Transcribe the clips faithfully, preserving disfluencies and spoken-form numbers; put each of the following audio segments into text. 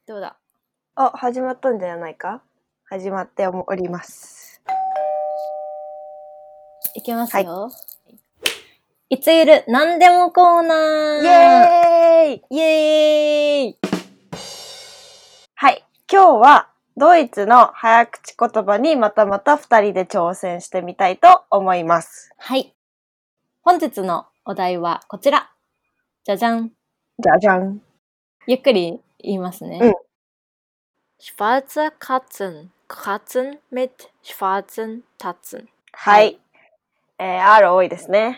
どうだ。 あ、始まったんじゃないか。始まっております。 いきますよ。はい、いつゆるなんでもコーナー。 イエーイイエーイ。 はい、今日はドイツの早口言葉にまたまたふたりで挑戦してみたいと思います。 はい。本日のお題はこちら。じゃじゃん。 じゃじゃん。 ゆっくり言いますね。 うん。 Schwarze Katzen kratzen mit schwarzen Tatzen。 はい。えー、R 多いですね。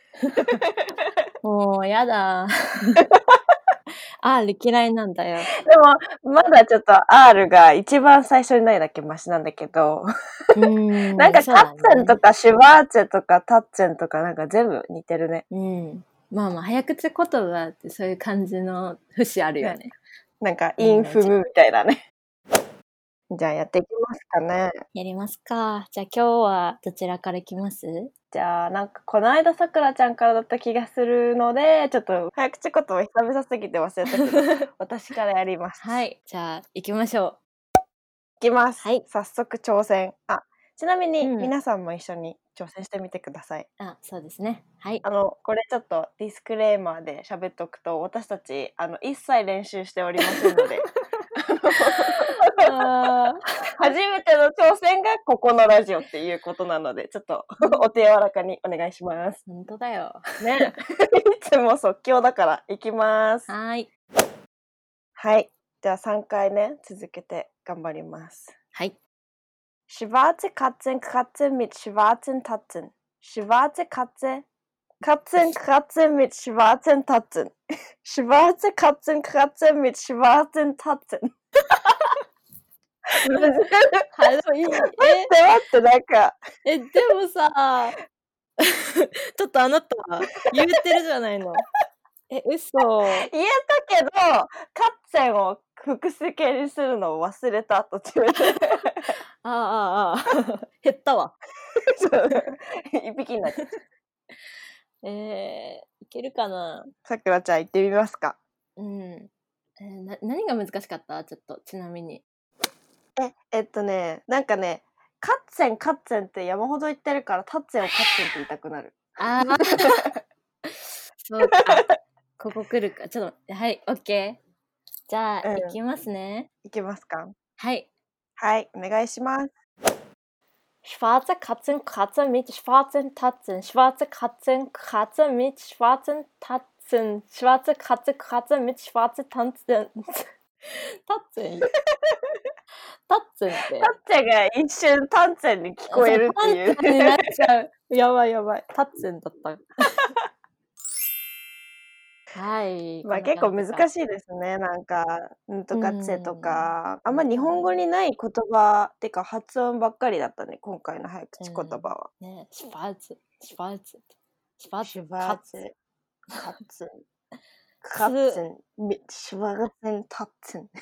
もうやだ。R 嫌いなんだよ。 でもまだちょっと R が一番最初にないだけマシなんだけど。 うーんなんかカッツェンとかシュワーツェとかタッツェンとかなんか全部似てるね。 うん。まあまあ早口言葉ってそういう感じの節あるよね。ね、 なんかインフムみたいなね。じゃあやっていきますかね。 やりますか。じゃあ今日はどちらからいきます？ じゃあなんかこの間さくらちゃんからだった気がするので、ちょっと早口言葉久々すぎて忘れたけど私からやります。 はい、じゃあ行きましょう。いきます。 はい。 早速挑戦。あ、ちなみに皆さんも一緒に挑戦してみてください。 うん、あ、そうですね。はい。 あのこれちょっとディスクレーマーで喋っておくと、私たちあの一切練習しておりませんので。初めての挑戦がここのラジオっていうことなので、ちょっとお手柔らかにお願いします。 本当だよ。 ね。いつも即興だからいきます。 はい。 はい。じゃあさんかいね、続けて頑張ります。 はい。 Schwarze Katzen kratzen mit schwarzen Tatzen. Schwarze Katze Katzen kratzen mit schwarzen Tatzen. Schwarze Katzen kratzen mit schwarzen Tatzen. 難しい。 え、待って待って、なんか。 え、でもさ、ちょっとあなた言ってるじゃないの。え、嘘。 言えたけど、カッツェンを複数形にするのを忘れた途中で。 ああああ、減ったわ。 一匹になっちゃった。 えー、いけるかな。 さくらちゃん行ってみますか。 うん。えー、な何が難しかった？ちょっとちなみに。 え、えっとね、なんかね、カッツェンカッツェンって山ほど言ってるから、タッツェンをカッツェンって言いたくなる。 ああ。そうか。ここ来るか。ちょっと、はい、オッケー。じゃあ、うん、いきますね。 いきますか。 はい。 はい、お願いします。 Schwarze Katzen kratzen mit schwarzen Tatzen. Schwarze Katzen kratzen mit schwarzen Tatzen. Schwarze Katze kratzen mit schwarzen Tatzen. タッツェンタッツェンって。 タッツェンが一瞬タッツェンに聞こえるっていう。 タッツェンになっちゃう。やばいやばい。タッツェンだった。はい。 まあ結構難しいですね。なんか、んとかつえとか、あんま日本語にない言葉ってか発音ばっかりだったね、今回の早口言葉は。 うん、ね、シュバーツ、シュバーツ、 シュバーツ、シュバーツ、カッツン、カッツン、シュバーツン、タッツン。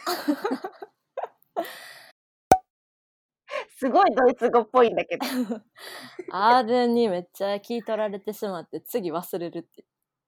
すごいドイツ語っぽいんだけど。 R にめっちゃ聞い取られてしまって次忘れるって。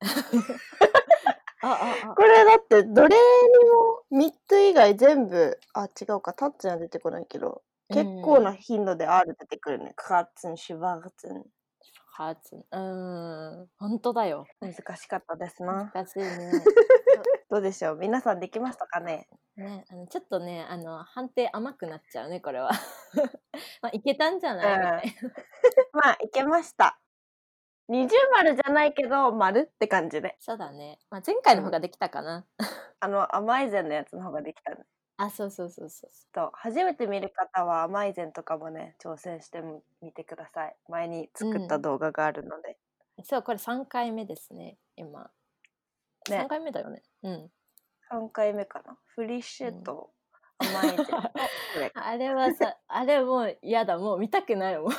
あああこれだってどれにもみっつ以外全部、あ、違うか、タッツンは出てこないけど、結構な頻度で R 出てくるね。カッツン、シュバーツン。 カーツン。うーん、本当だよ。 難しかったですな。 難しいね。 どうでしょう、皆さんできましたかね。 ね、あのちょっとね、あの判定甘くなっちゃうね、これは。まあいけたんじゃない、うん、みたいな。 まあいけました。二重丸じゃないけど丸って感じで。 そうだね。まあ前回の方ができたかな。うん、 あのアマイゼンのやつの方ができたね。 あ、そうそうそうそう。 と初めて見る方はアマイゼンとかもね挑戦してみてください。前に作った動画があるので。 うん、そう、これさんかいめですね、今。ね、さんかいめだよね。うん。 さんかいめかな。フリッシュとアマイゼンと、うん、 あれはさ、あれもう嫌だ、もう見たくないもん。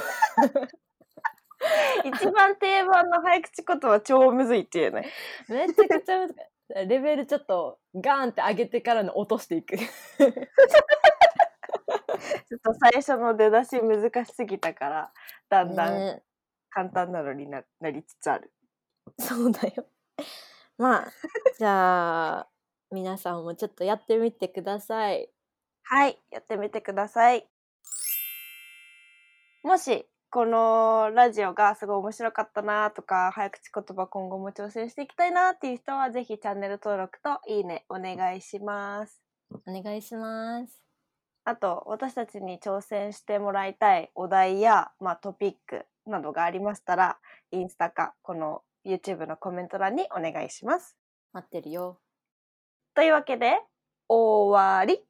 一番定番の早口言葉超むずいっていうね。 めちゃくちゃ難しい。レベルちょっとガーンって上げてからの落としていく。ちょっと最初の出だし難しすぎたからだんだん簡単なのに な, なりつつある。 そうだよ。まあじゃあ皆さんもちょっとやってみてください。 はい、やってみてください。もしこのラジオがすごい面白かったなとか、早口言葉今後も挑戦していきたいなっていう人はぜひチャンネル登録といいねお願いします。 お願いします。 あと私たちに挑戦してもらいたいお題や、まあ、トピックなどがありましたら、インスタかこの YouTube のコメント欄にお願いします。 待ってるよ。 というわけで終わり。